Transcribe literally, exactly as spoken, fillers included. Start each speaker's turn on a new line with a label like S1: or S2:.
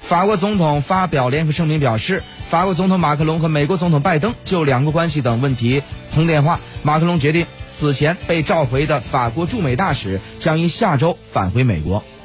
S1: 法国总统发表联合声明表示，法国总统马克龙和美国总统拜登就两国关系等问题通电话。马克龙决定，此前被召回的法国驻美大使将于下周返回美国。